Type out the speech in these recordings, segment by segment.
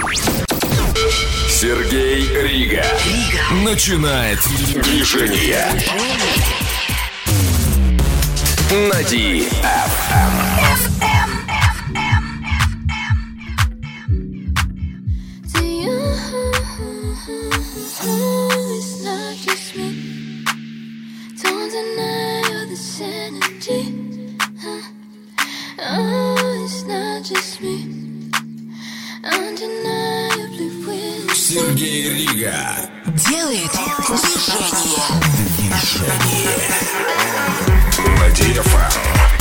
Сергей Рига начинает движение на DFM. Сергей Рига делает движение на DFM.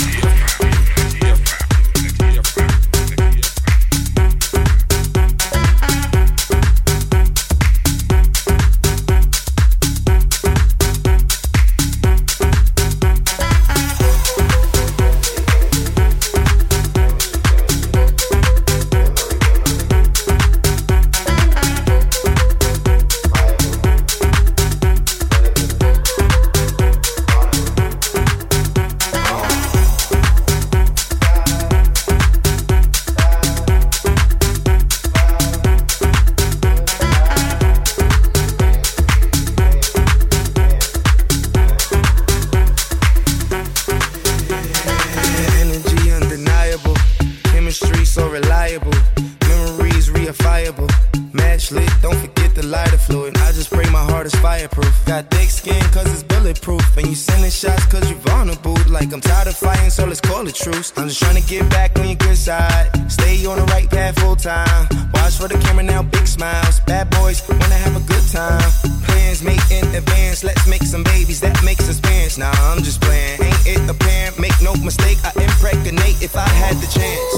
I'm just trying to get back on your good side. Stay on the right path full time. Watch for the camera now, big smiles. Bad boys wanna have a good time. Plans made in advance. Let's make some babies, that makes us parents. Nah, I'm just playing. Ain't it apparent? Make no mistake, I impregnate if I had the chance.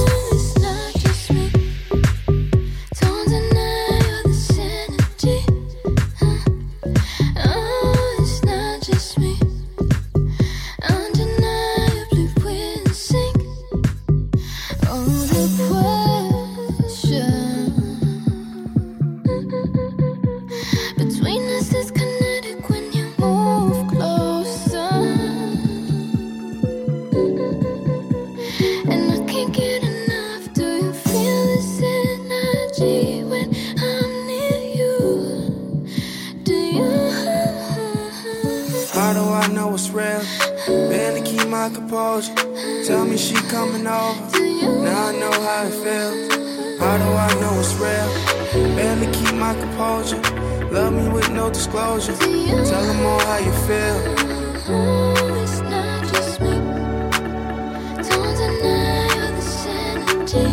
Tell me she coming over. Now I know how it feels. How do I know it's real? Barely keep my composure. Love me with no disclosure. Tell them all how you feel. It's not just me. Don't deny you're the sanity.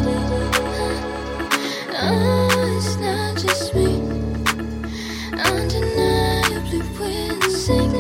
It's not just me. Undeniably we're the same.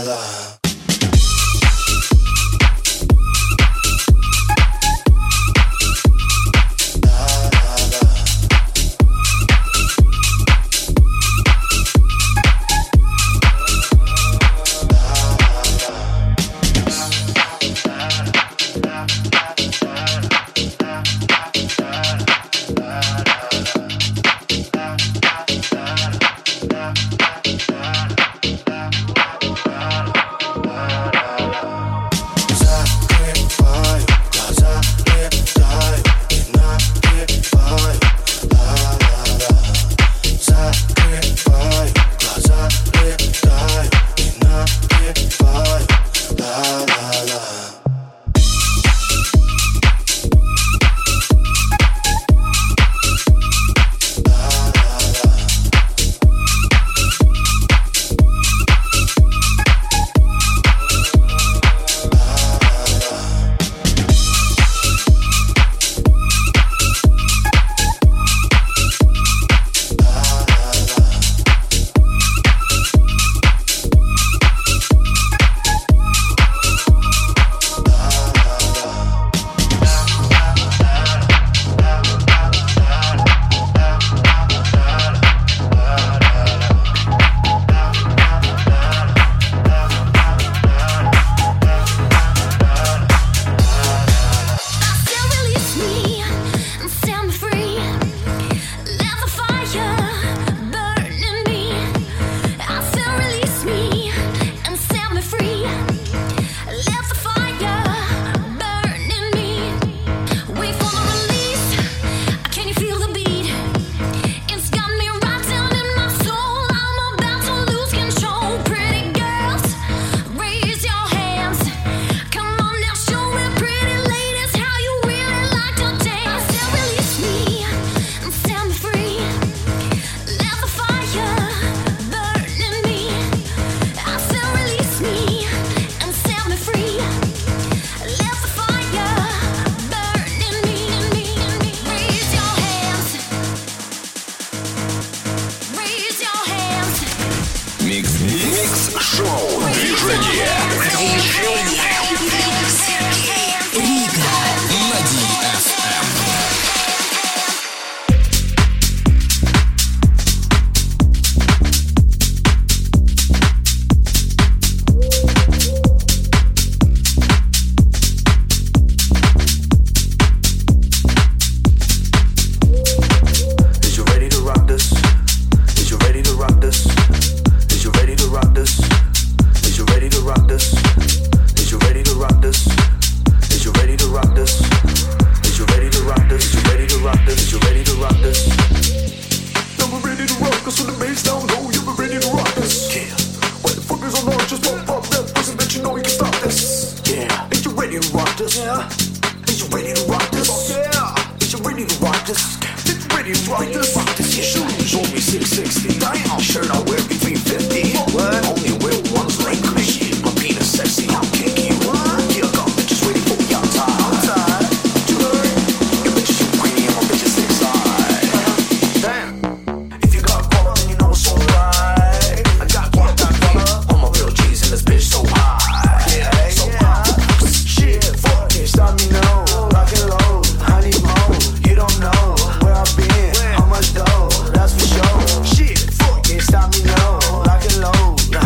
Stop me now, lock and load.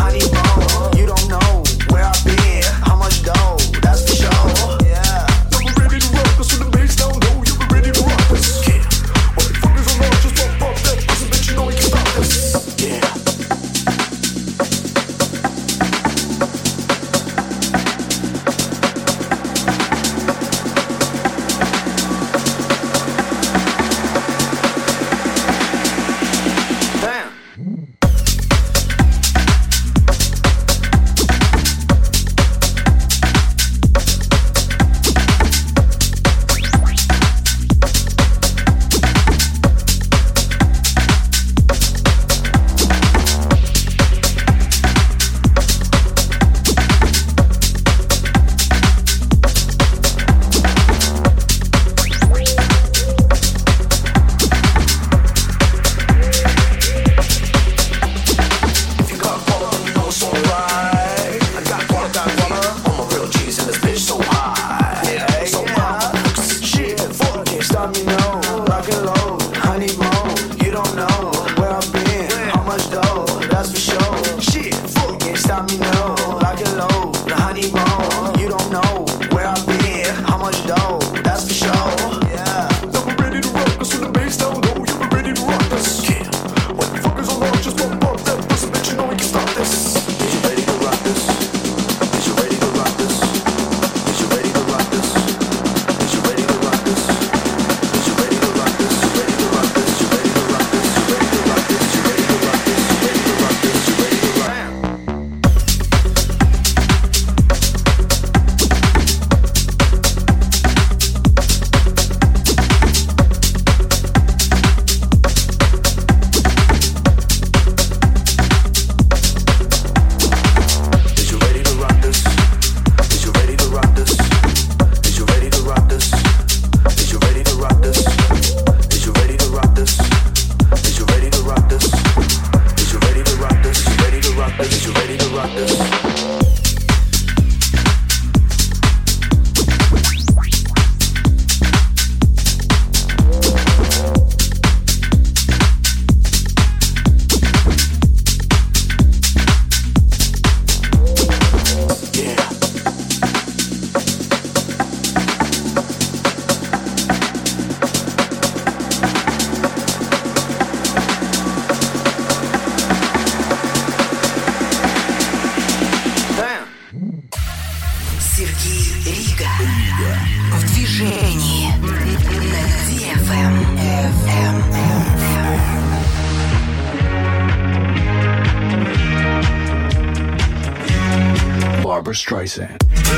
Barbra Streisand.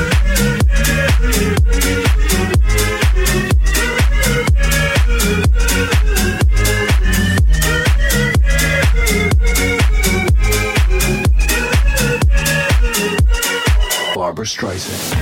Barbra Streisand.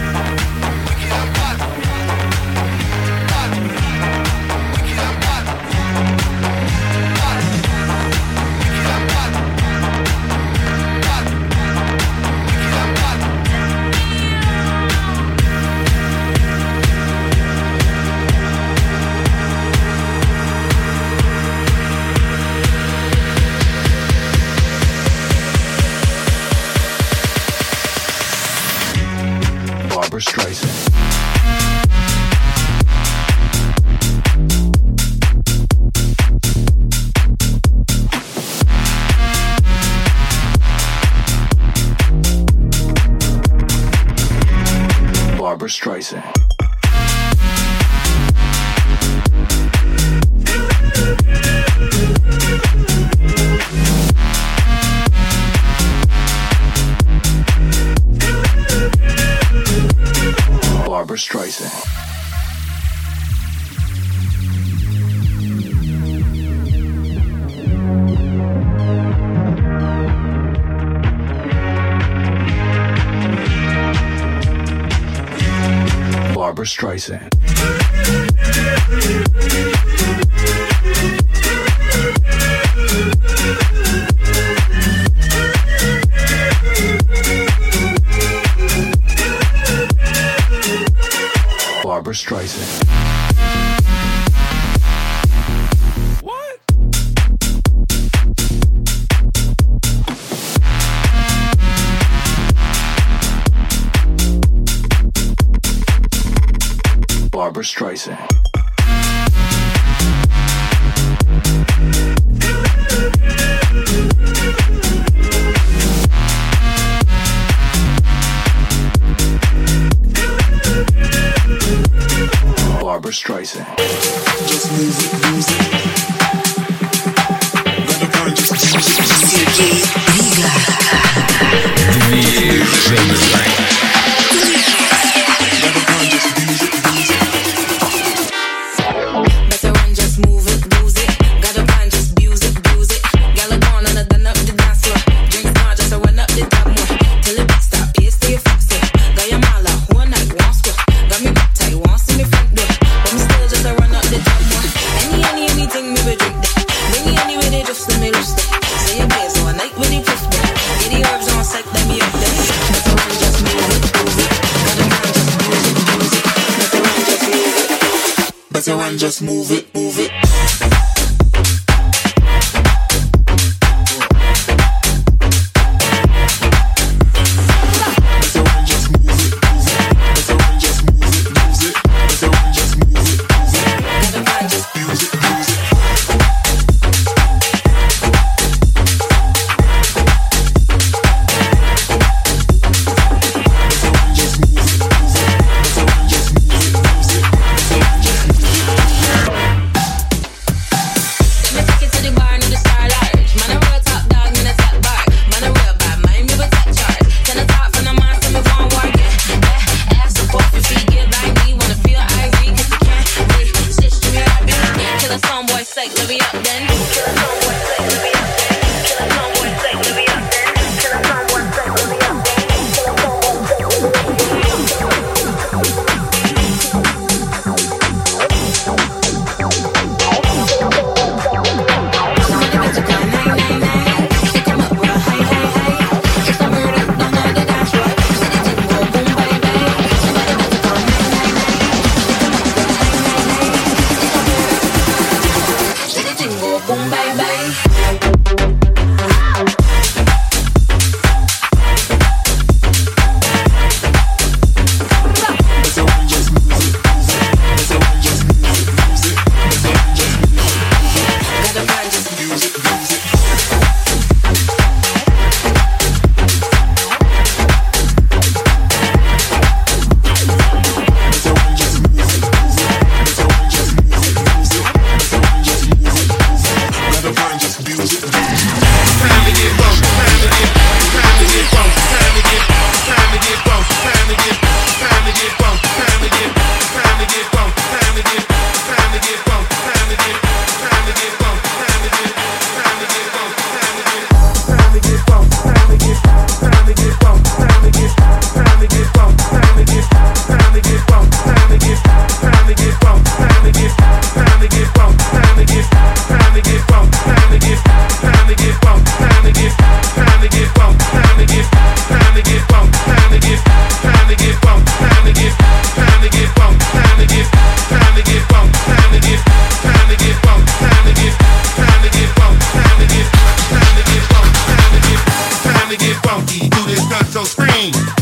Barbra Streisand. Barbra Streisand. Barbra Streisand. Barbra Streisand. Barbra Streisand. What? Barbra Streisand. Barbra Streisand. Just music, music. Сергей Рига. Движение. Better run, just move it, lose it. Got a plan, just abuse it, abuse it. Gal gone and I done up the dance floor. Drinks more, just to run up the top more. Till the beat stop, pace to your foot set. Got your mala, one night, one square. Got me back tight, one see me front door. But me still just to run up the top more. Anything me we drink that. Bring me anyway, they just let me loose that. Say your best, so I night with the fifth there. Get the herbs on sight, let me up there. Better run, just move it, move it. Got a plan, just abuse it, abuse it. Better run, just move it. Better run, just move it, move it.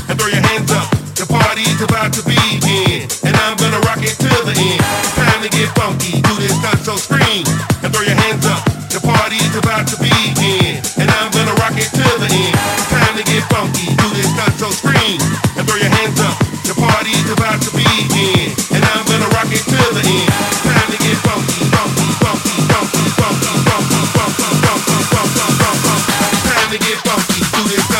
and throw your hands up. The party's about to begin, and I'm gonna rock it till the end. Time to get funky, do this stunt, so scream and throw your hands up. The party's about to begin, and I'm gonna rock it till the end. Time to get funky, do this stunt, so scream and throw your hands up. The party's about to begin, and I'm gonna rock it till the end. Time to get funky, funky, funky, funky, funky, funky, funky, funky, funky, funky. Time to get funky, do this stunt.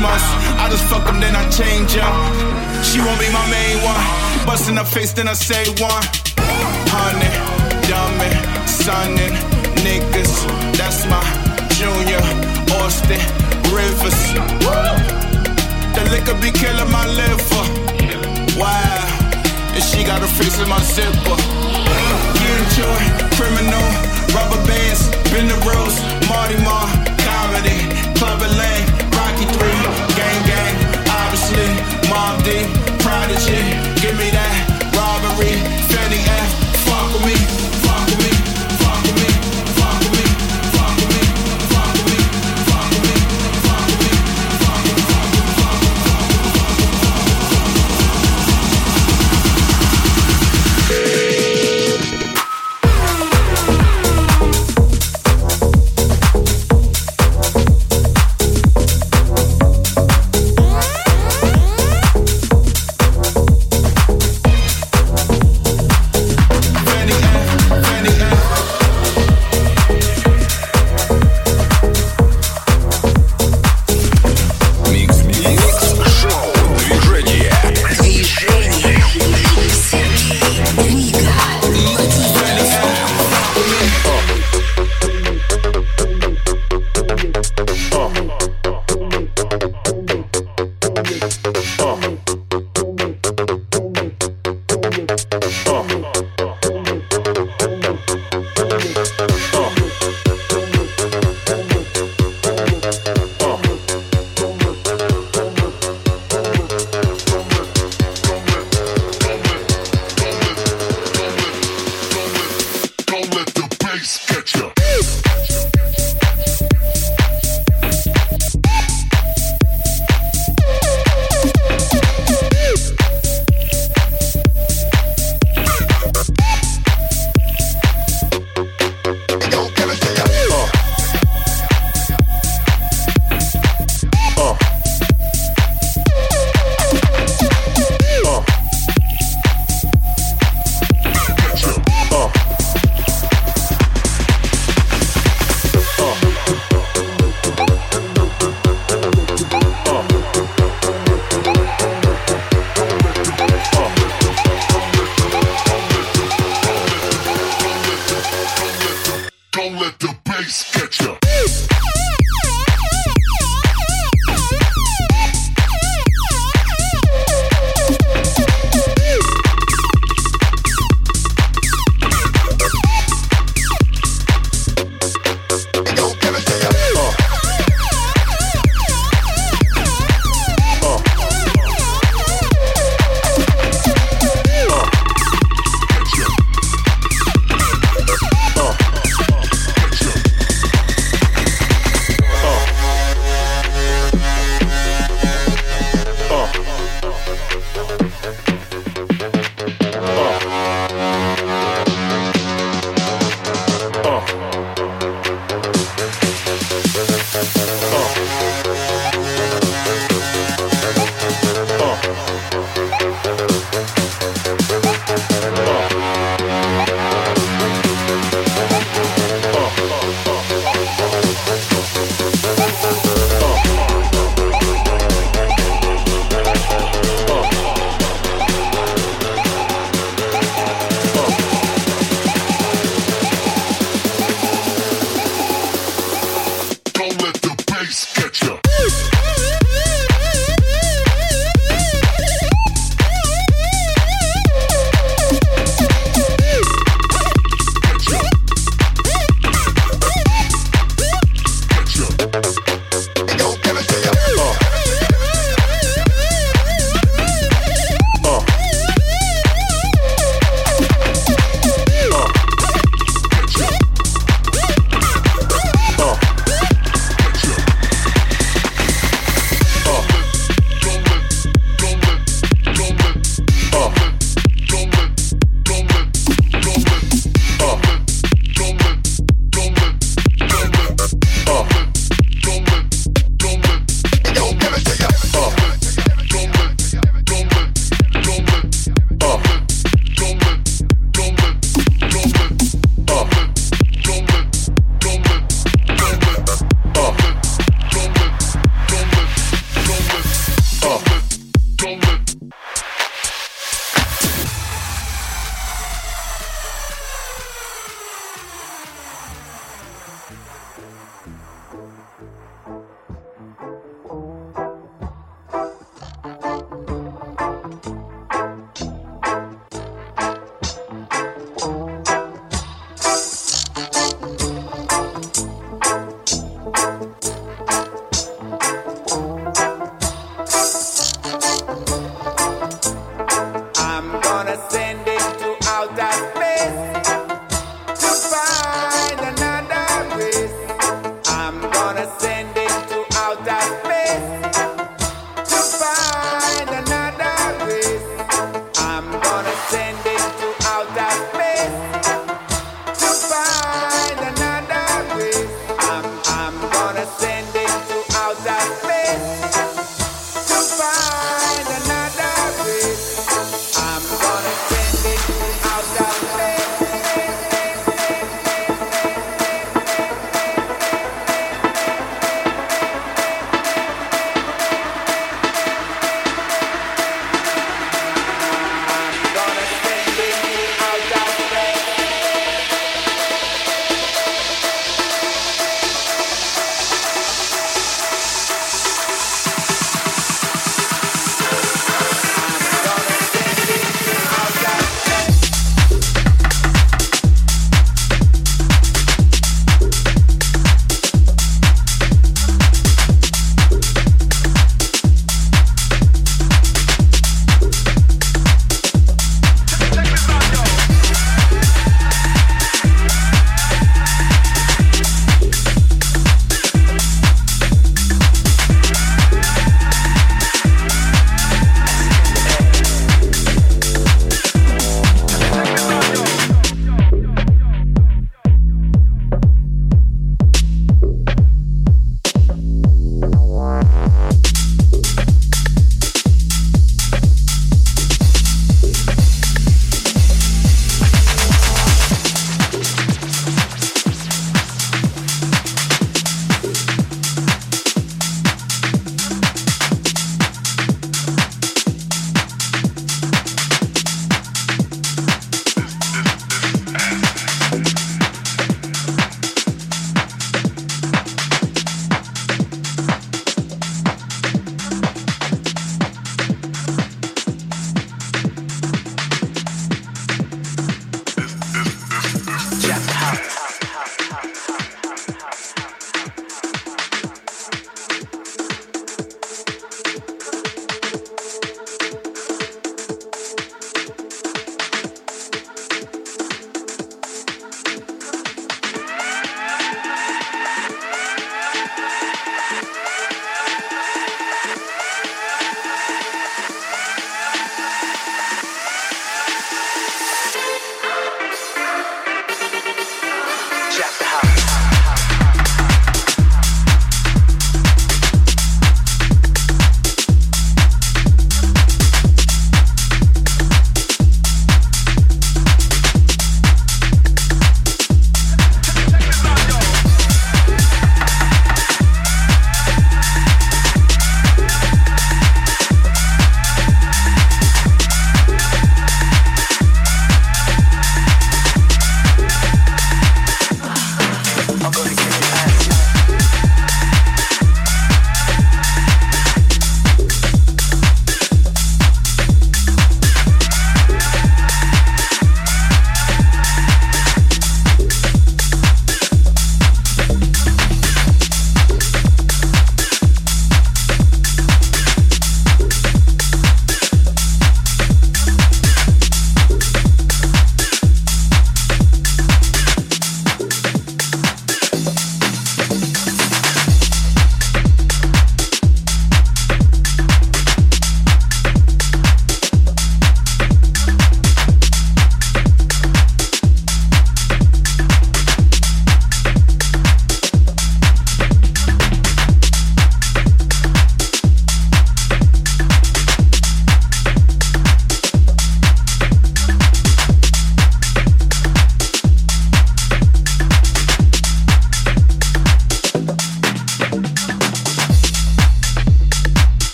months. I just fuck them, then I change up. She won't be my main one. Bust in her face, then I say one. Honey, dummy, sonnin', niggas. That's my Junior, Austin, Rivers. The liquor be killing my liver. Wow, and she got her face in my zipper. Get into it, criminal, rubber bands, bend the rules, Marty Marr, comedy, Club Lane, Rocky 3, gang gang, obviously, Mob D, Prodigy, give me that robbery, Fetty F, fuck with me, fuck with me, fuck with me, fuck with me, fuck with me, fuck with me, fuck with me, fuck with me, fuck with me, fuck with me.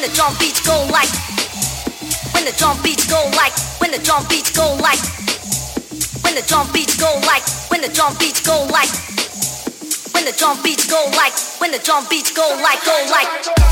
the drum beats go like, when the drum beats go like, when the drum beats go like, when the drum beats go like, when the drum beats go like, when the drum beats go like, when the drum beats go like, go like.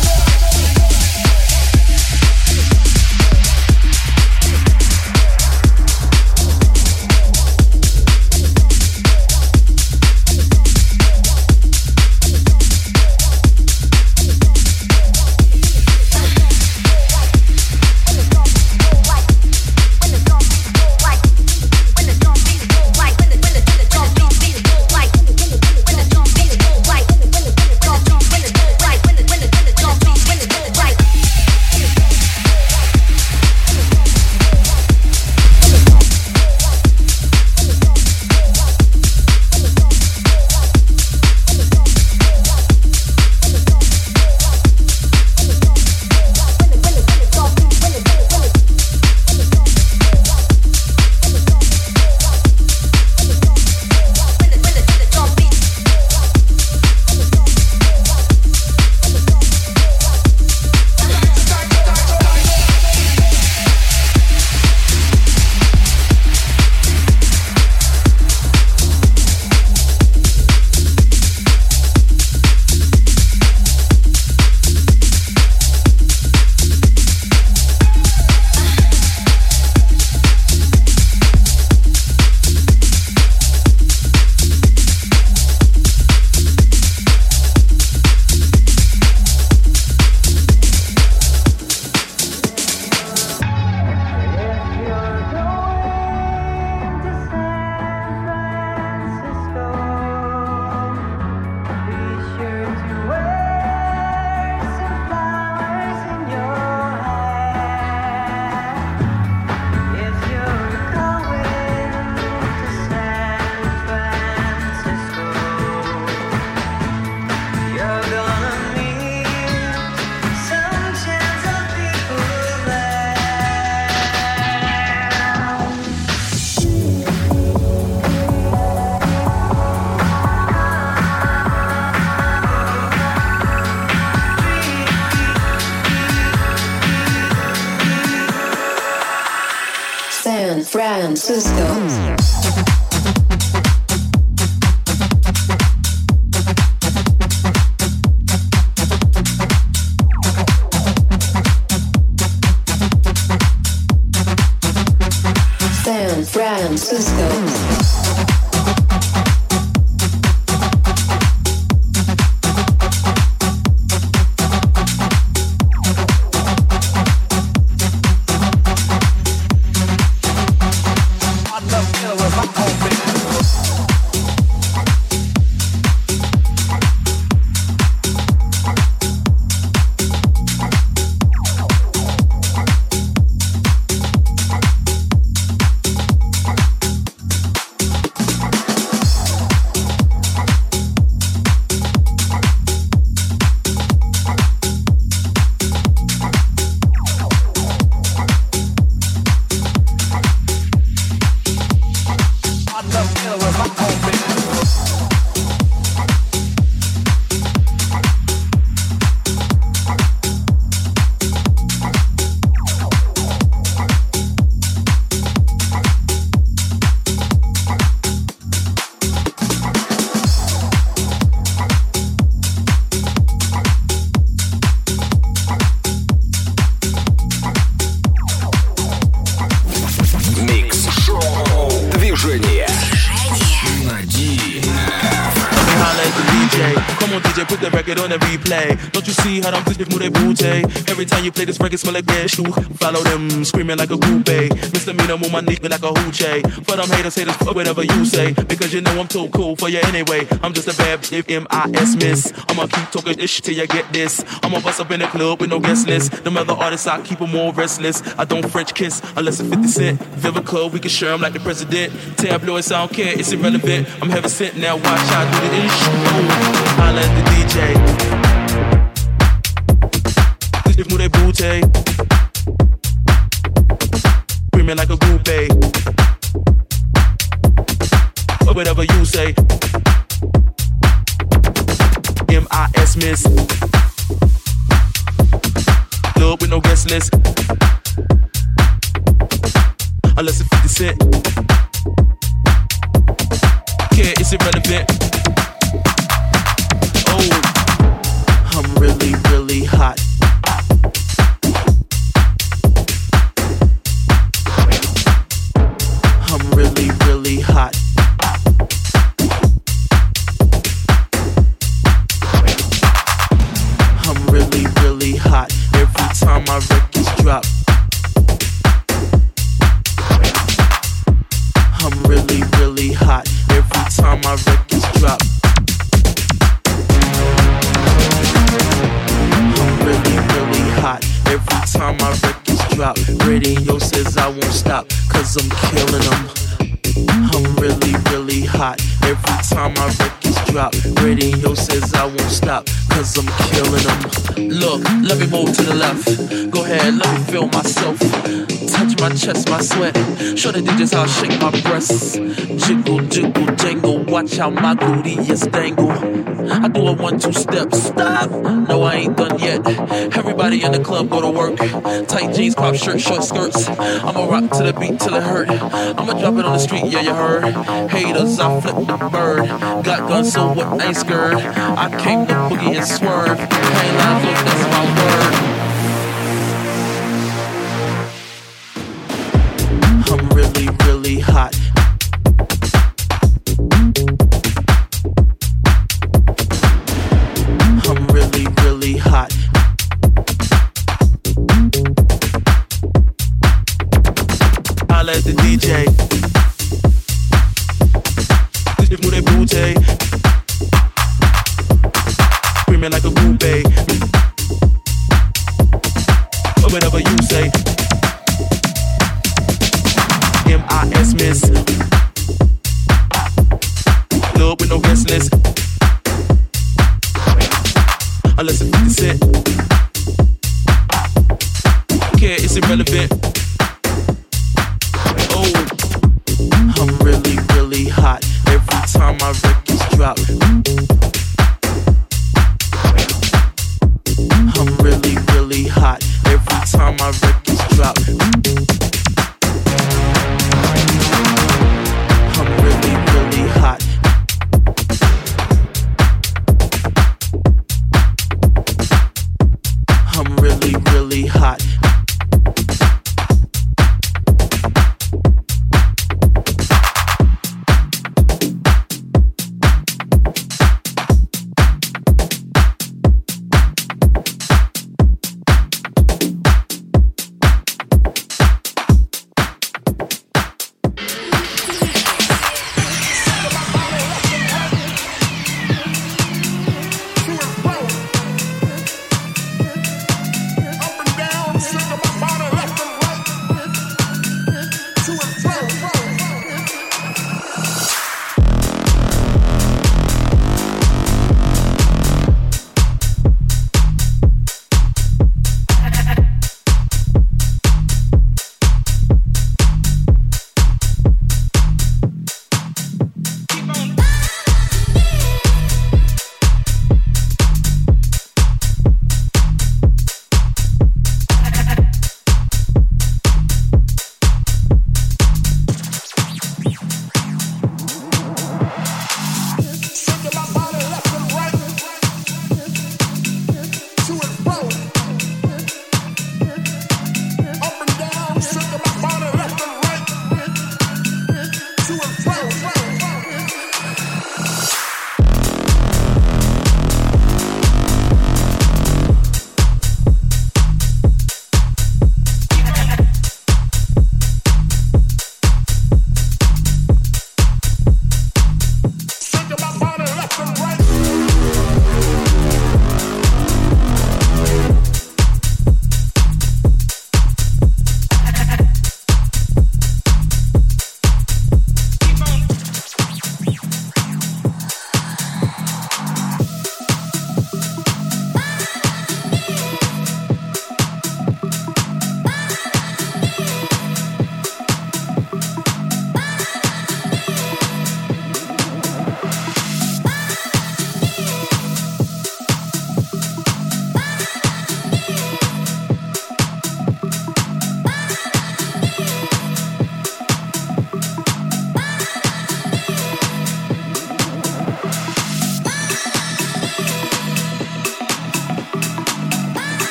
San Francisco. San Francisco. Don't you see how I'm twisted with booty? Every time you play this record, smell like gas shoe. Follow them, screaming like a groupie. Misdemeanor on my knee like a hoochie. For them haters, fuck whatever you say. Because you know I'm too cool for you anyway. I'm just a bad bitch, M.I.S. miss. I'ma keep talking this shit till you get this. I'ma bust up in the club with no guest list. Them other artists, I keep them more restless. I don't French kiss unless it's 50 Cent. Vivica, we can share them like the president. Tabloids, I don't care, it's irrelevant. I'm heaven sent now, watch how I do the ish. Holla at the DJ. If move that booty, screaming like a groupie, or whatever you say. M.I.S. miss. Club with no guest list. Unless it's 50 Cent. Yeah, it's irrelevant. Oh, I'm really, really hot. I'm really, really hot. I'm really, really hot. Every time my records drop. I'm really, really hot. Every time my records drop. I'm really, really hot. Every time my records drop. Radio says I won't stop, cause I'm killing them. I'm really, really hot. Every time my records drop. Radio says I won't stop, cause I'm killing them. Look, let me move to the left. Go ahead, let me feel myself. Touch my chest, my sweat. Show the DJs how I shake my breasts. Jiggle, jiggle, jangle. Watch how my booty is dangle. I do a 1-2 step. Stop! No, I ain't done yet. Everybody in the club go to work. Tight jeans, crop shirt, short skirts. I'ma rock to the beat till it hurt. I'ma drop it on the street, yeah, you heard. Haters, I flip the bird. Got guns, so what? I ain't scared. I came to boogie and swerve. I ain't lying, look, that's my word. I'm really, really hot. I'm really, really hot. I'll let the DJ. If move that booty. Screaming like a groupie. Or whatever you say. M.I.S. Miss. Club with no guest list. Unless it's 50 Cent. Yeah, it's irrelevant. Oh, I'm really, really hot. Every time my records drop. I'm really, really hot. Every time my records drop. I'm really, really hot. I'm really, really hot.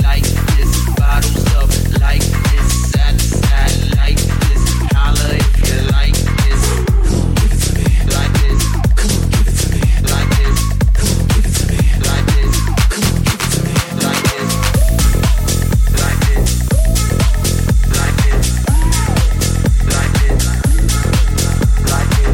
like this, bottles up like this, side to side like this. Holla if you like this. Like this. Like this. Like this. Like this. Like this. Like this. Like this. Like this.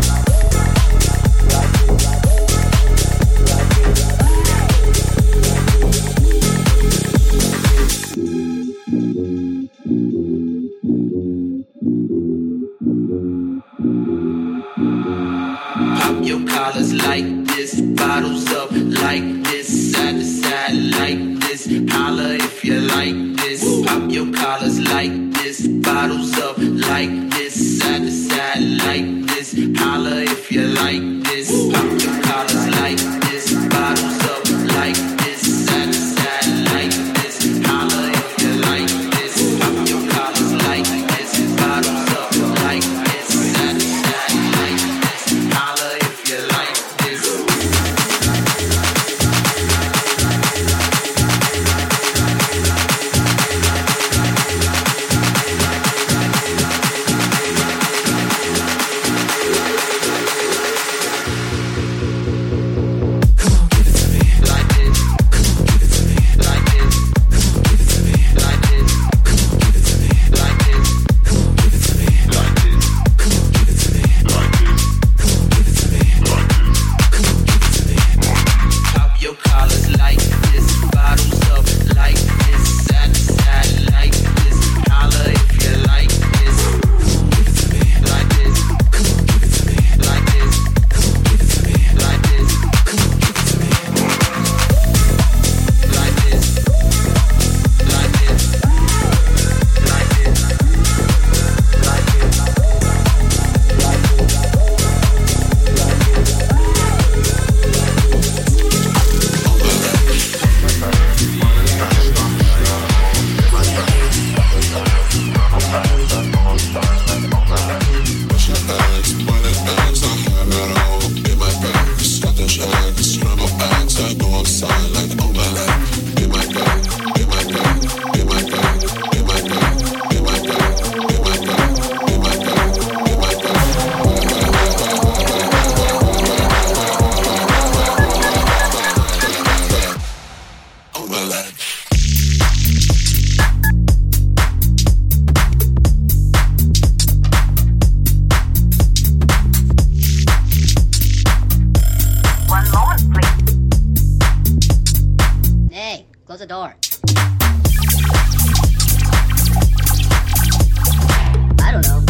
Pop your collars like this, bottles up like this, side to side like this. Holla if you like this. Pop your collars like this, bottles up like this, side to side like this. Holla if you like this. Pop your collars like this, bottles up like this, side to side like this. Holla if you like this. Pop your collars like this, bottles up like this, side to side like this. Holla if you like this. Close the door. I don't know.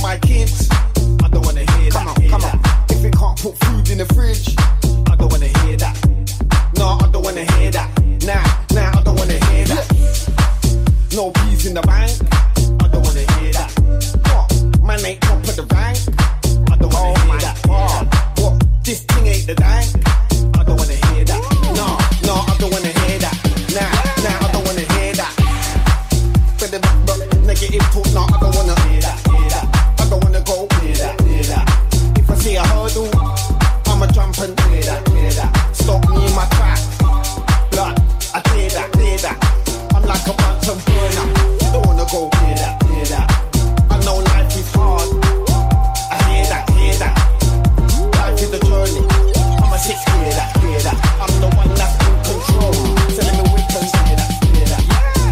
my kids, I don't wanna hear that. Come on. If it can't put food in the fridge, I don't wanna hear that. No, I don't wanna hear that. Nah, I don't wanna hear that. No peas in the bank, I don't wanna hear that. What? Man ain't top of the rank, I don't wanna hear that. What? This thing ain't the dank, I don't wanna hear that. No, I don't wanna hear that. Nah, I don't wanna hear that. But the negative talk, no, I don't wanna hear that. I don't wanna go hear that. If I see a hurdle, I'ma jump and clear that. Stop me in my track. Blood, I clear that. I'm like a mountain burner. Don't wanna go hear that. I know life is hard. I hear that. Life is a journey. I'm a six, clear that. I'm the one that's in control. Telling me we can hear that. Hear that.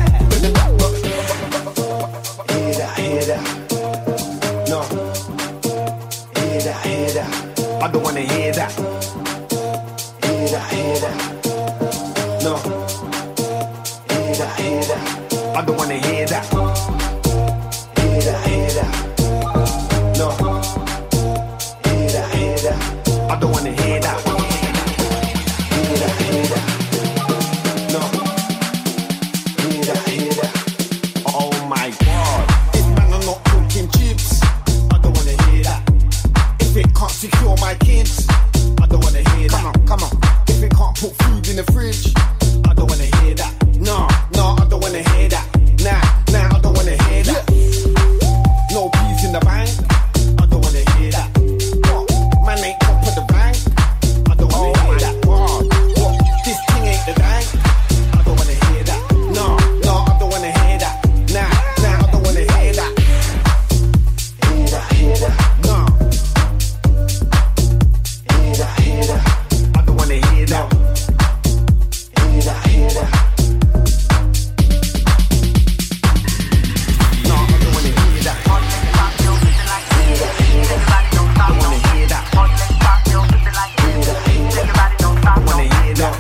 No. Hear that. I don't wanna hear that. Hear that. No. Hear that. I don't wanna hear that. Hear that. No. Hear that. I don't wanna hear that. Hear that. No. Hear that. Oh my God. This man are not cooking chips. I don't wanna hear that. If it can't secure my kids, I don't wanna hear that. Come on. If it can't put food in the fridge, I don't wanna hear that. No, I don't wanna hear that. Nah, I don't wanna hear that. No peas in the bank, I don't wanna hear that. What? Man ain't top of the bank, I don't wanna hear that. What? This thing ain't the bank, I don't wanna hear that. No, I don't wanna hear that. Nah, I don't wanna hear that. Hear that. No. Hear that. I don't wanna hear that. Hear that. No, I don't wanna hear that. I don't wanna hear that. I wanna hear that. I wanna hear that.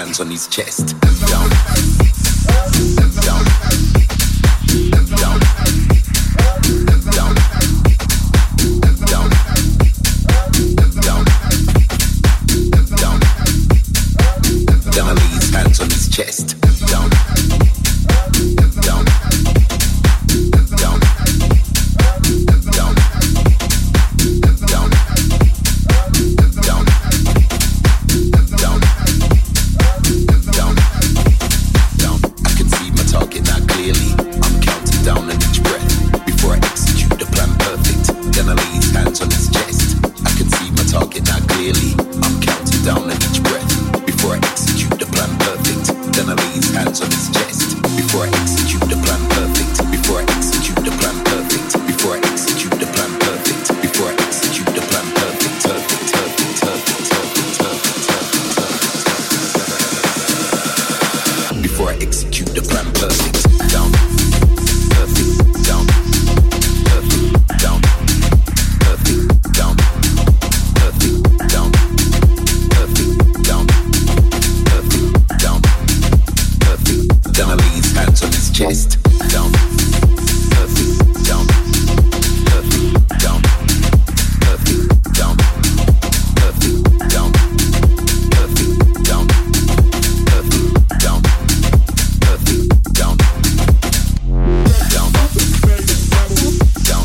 hands on his chest. Down, down, down, down, down, down, down. Then I lay his hands on his chest. Down, down, down, down, down, down, down, down, down. I can see my target now clearly. I'm counting down on each breath before I execute the plan perfect. Then I lay his hands on his chest. I can see my target now clearly. I'm counting down on each breath before I execute the plan perfect. Then I lay his hands on his chest before I execute the plan perfect. Before I execute the plan perfect. Before I execute the plan perfect. Before I execute the plan perfect. Perfect, perfect, perfect, perfect, perfect, perfect. Before I execute the plan perfect. Down, perfect, down, perfect, down, perfect, down, perfect, down, perfect, down, perfect, down, perfect. Then I lay his hands on his chest. Down, perfect, down, perfect, down, perfect, down, perfect, down, perfect, down, perfect, down, perfect, down, down, down,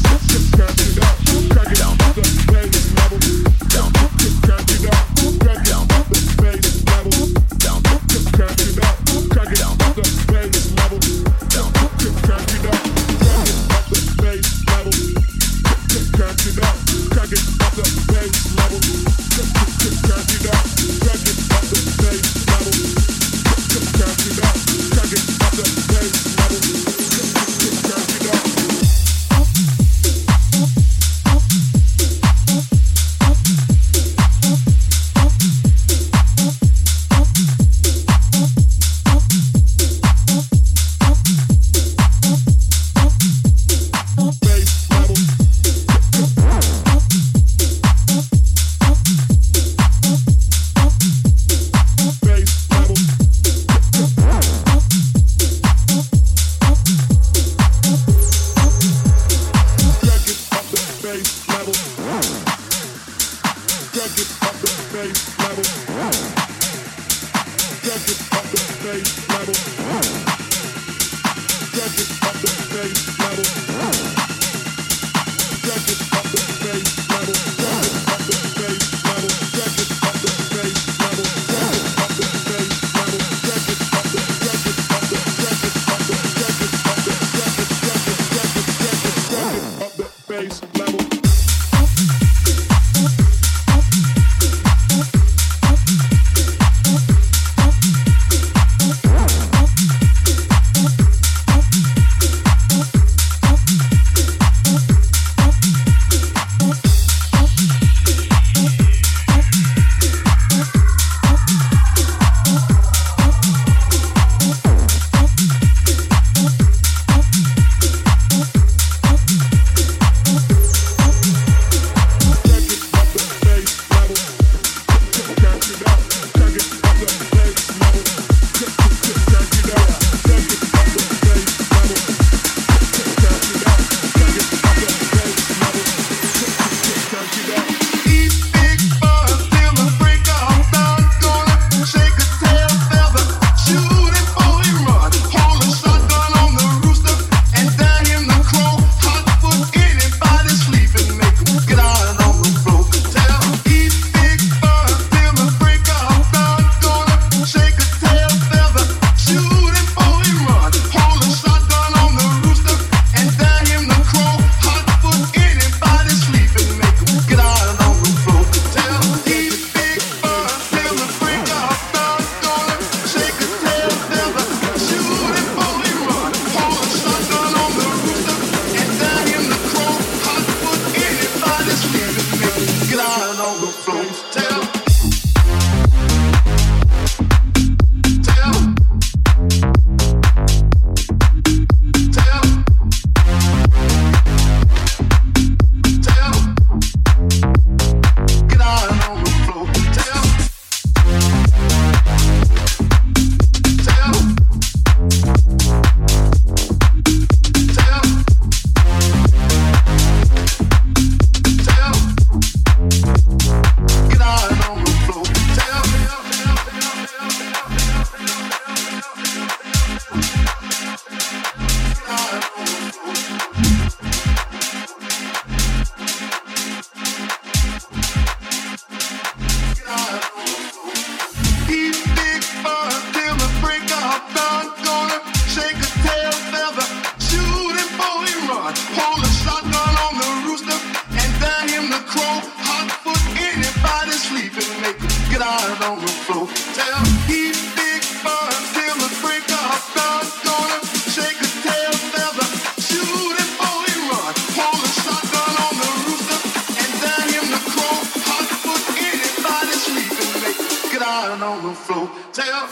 the floor. Tell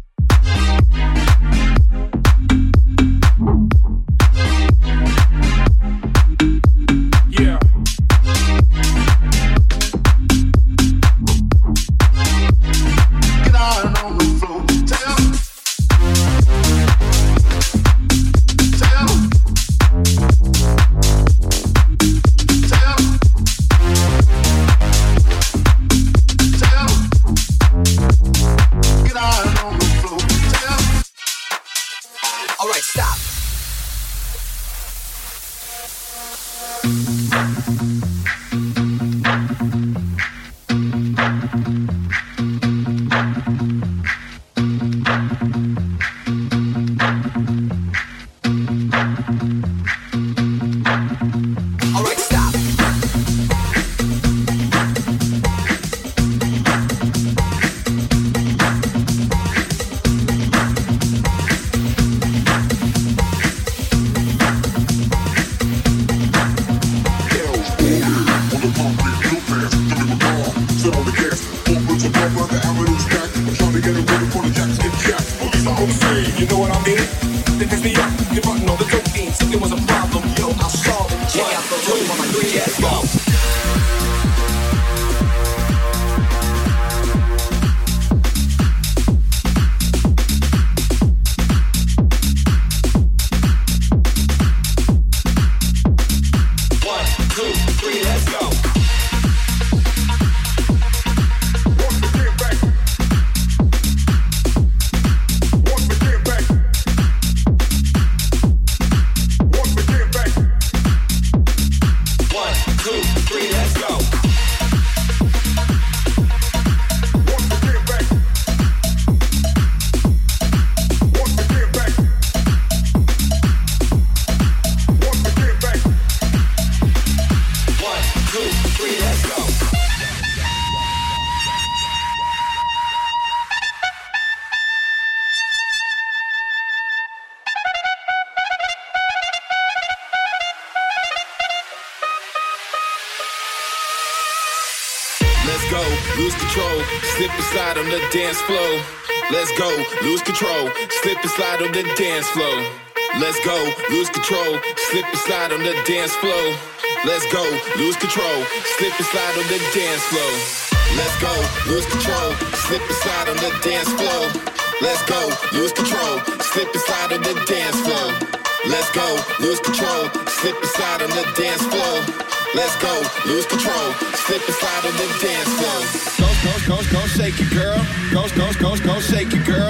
dance floor. Let's go, lose control, slip and slide on the dance floor. Let's go, lose control, slip and slide on the dance floor. Let's go, lose control, slip and slide on the dance floor. Let's go, lose control, slip and slide on the dance floor. Let's go, lose control, slip and slide on the dance floor. Let's go, lose control, slip and slide on the dance floor. Let's go, lose control, slip and slide on the dance floor. Go, shake it, girl. Go, shake it, girl.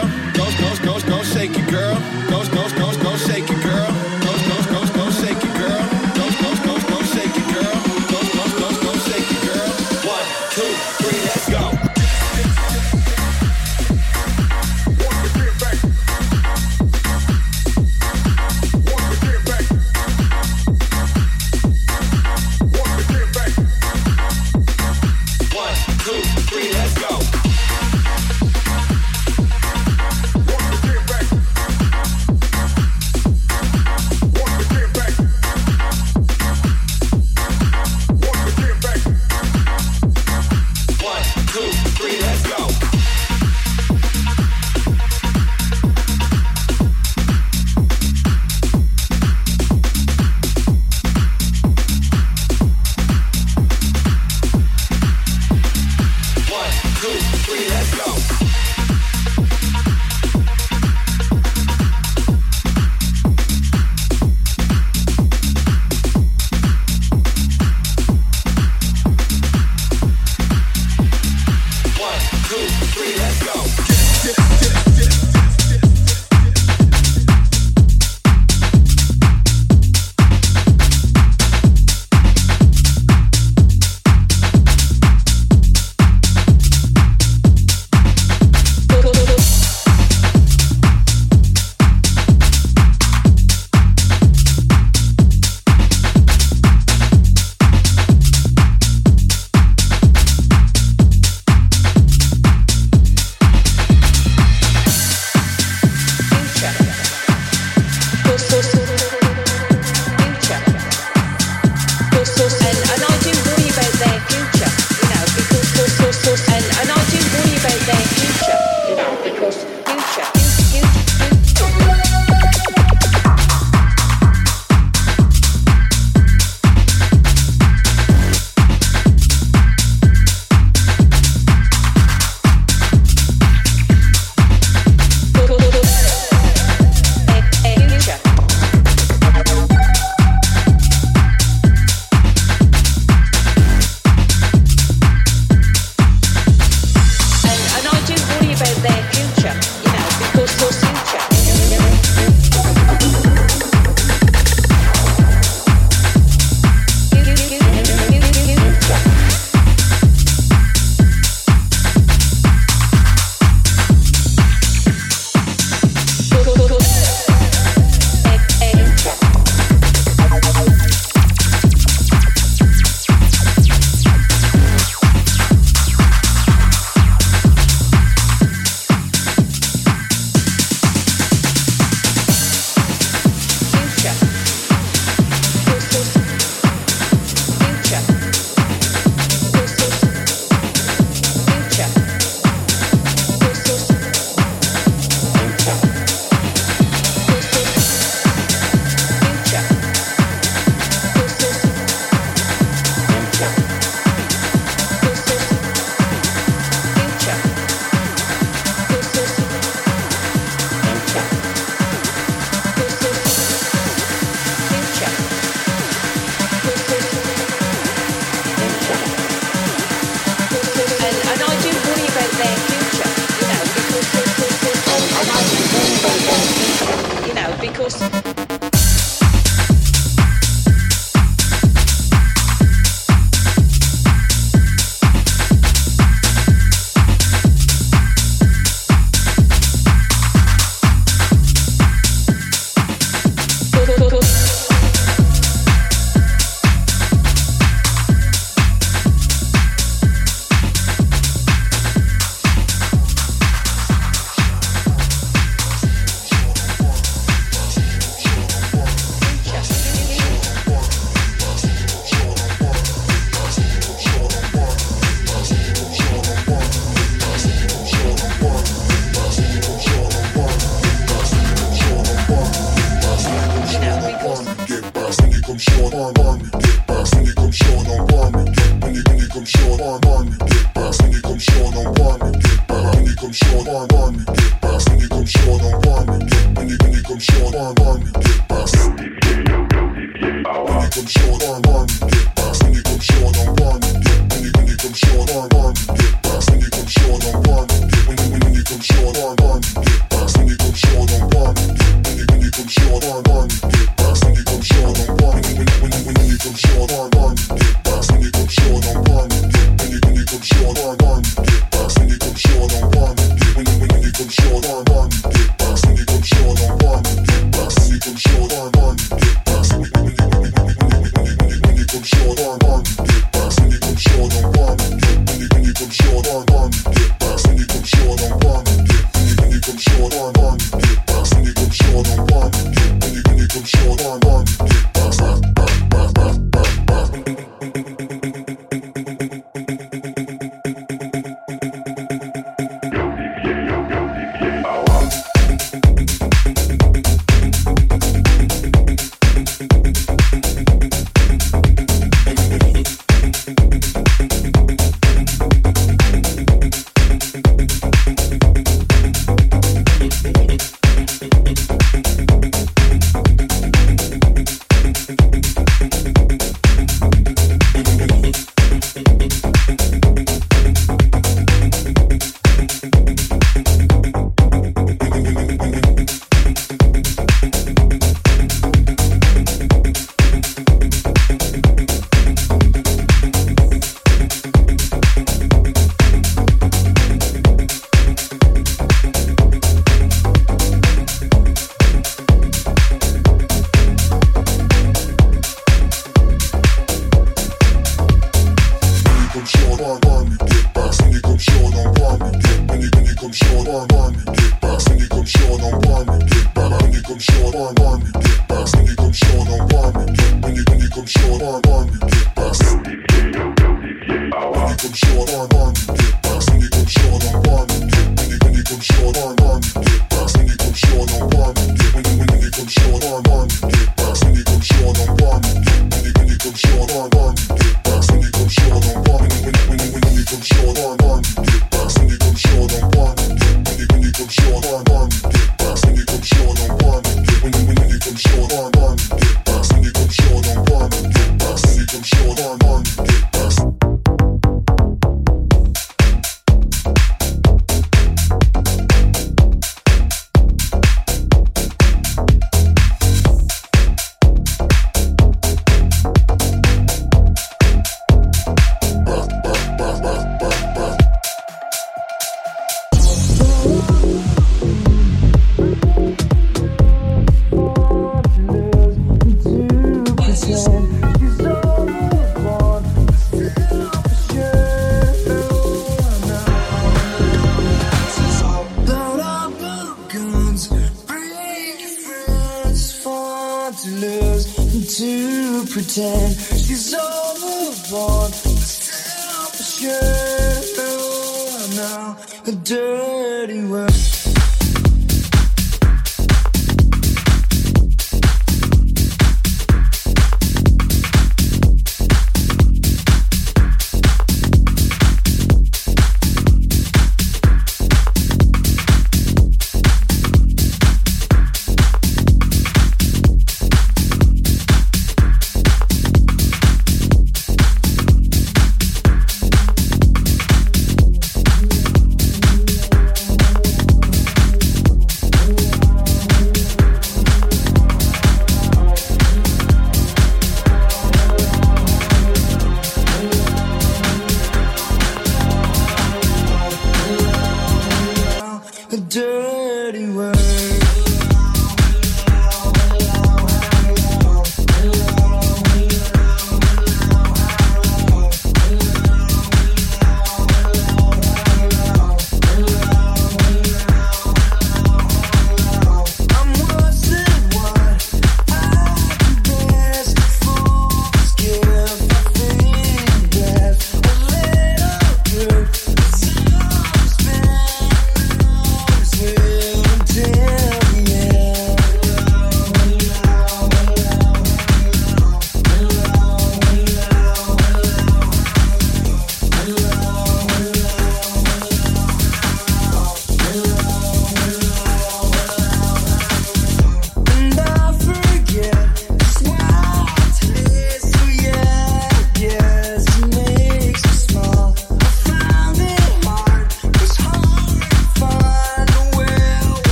Go, shake it, girl. Go, shake it, girl. Go, shake it, girl. Go, shake it, girl. Go, shake it, girl. 1, 2, 3, let's go.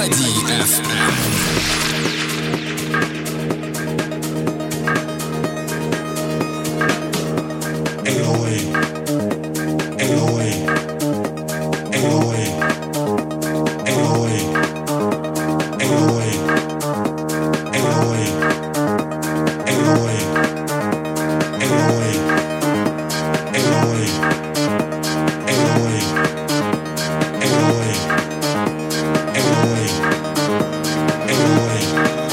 Mélodie FM. Ain't no way. Ain't no way. Ain't no way. Ain't no way. Ain't no way. Ain't no way. Ain't no way. Ain't no way. Ain't no way. Ain't no way. Ain't no way. Ain't no way. Ain't no way.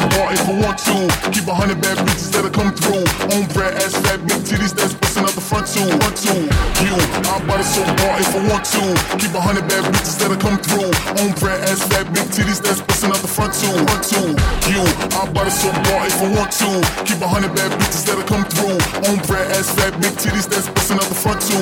bar if I want to. Keep 100 bad bitches that'll come through. On bread, ass fat, big titties that's busting out the front too. You, I bought it so bar if I want to. Keep 100 bad bitches that'll come through. On bread, ass fat, big titties that's busting out the front too. You, I bought it so bar if I want to. Keep 100 bad bitches that'll come through. On bread, ass fat, big titties that's busting out the front too.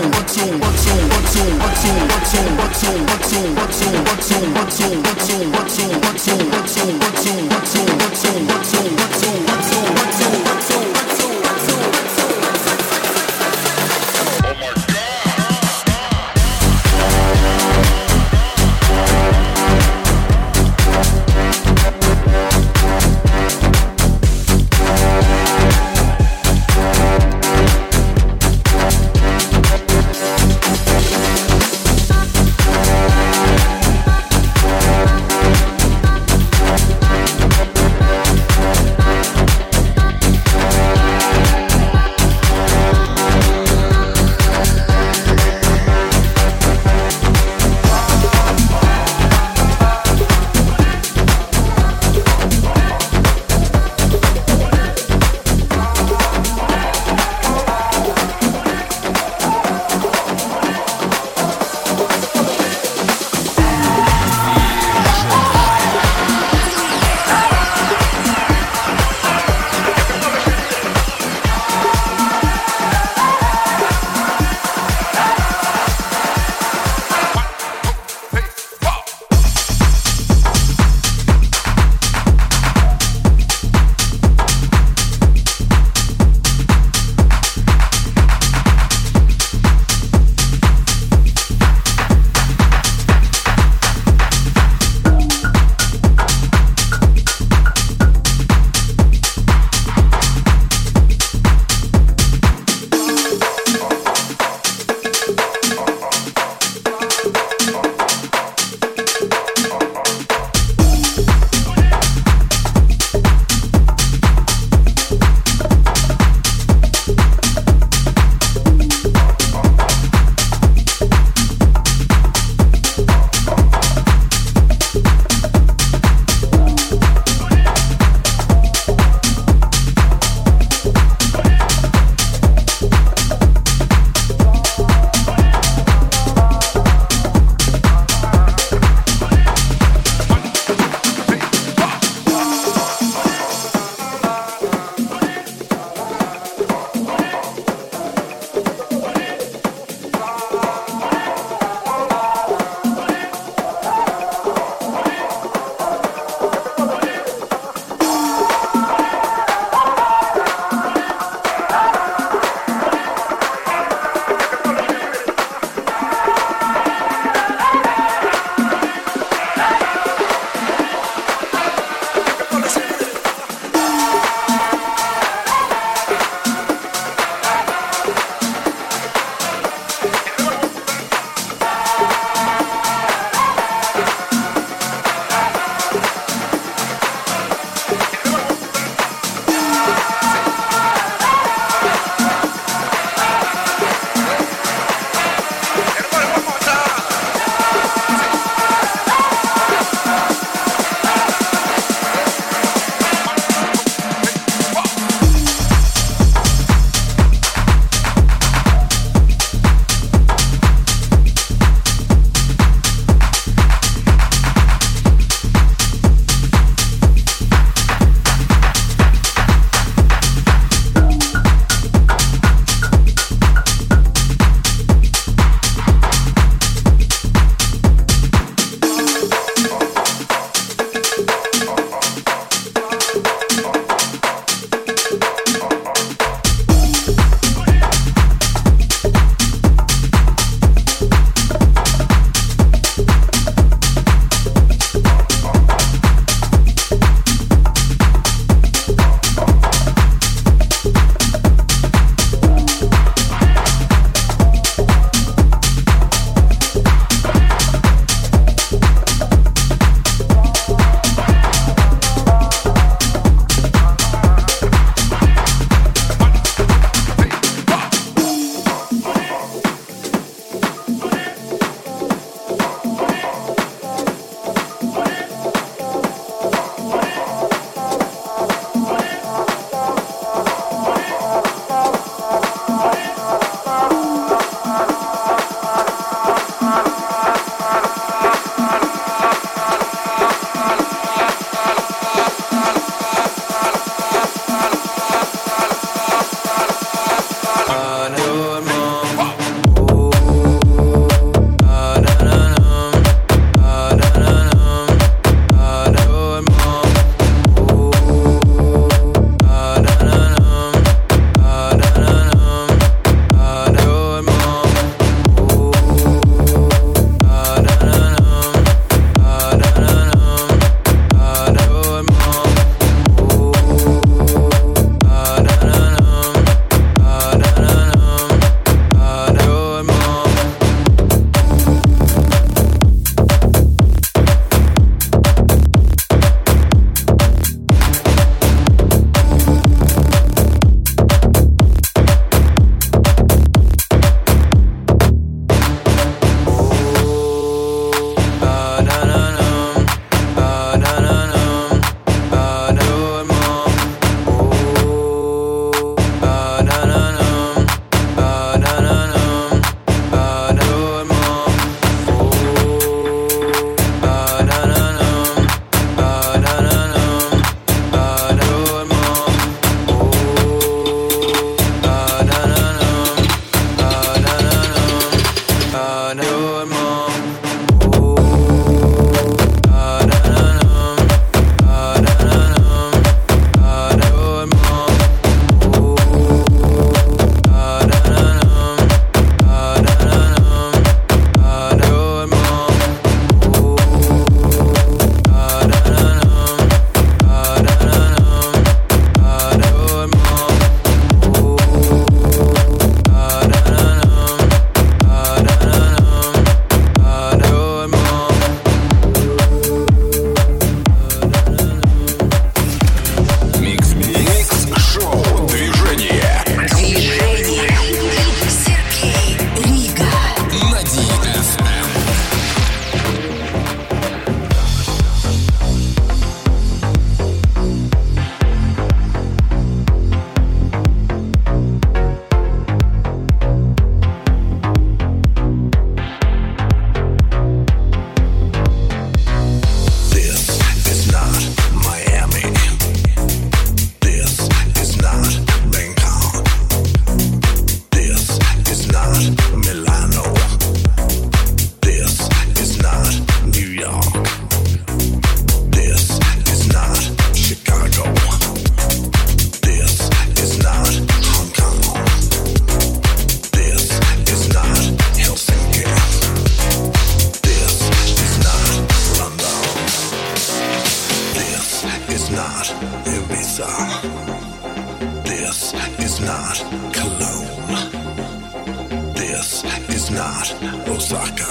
This is not Cologne. This is not Osaka.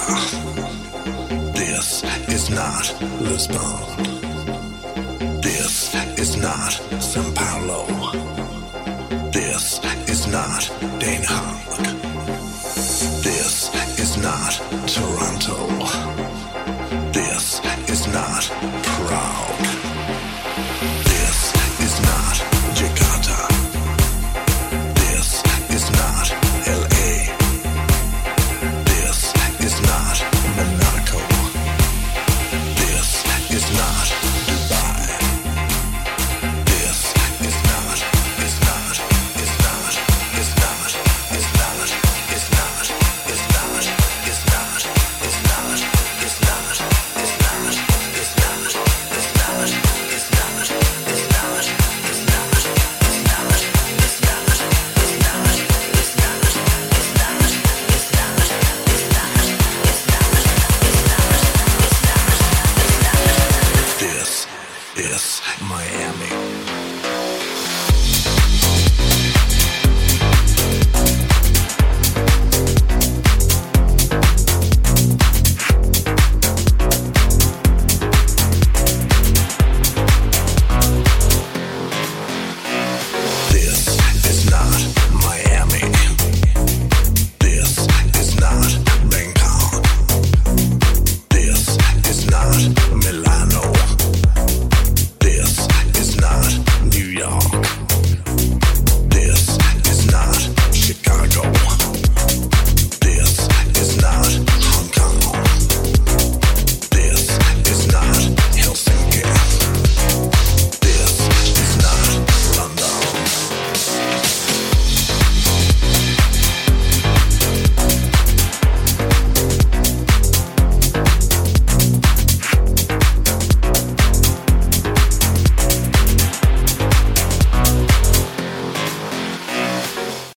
This is not Lisbon. This is not Sao Paulo. This is not Den Haag.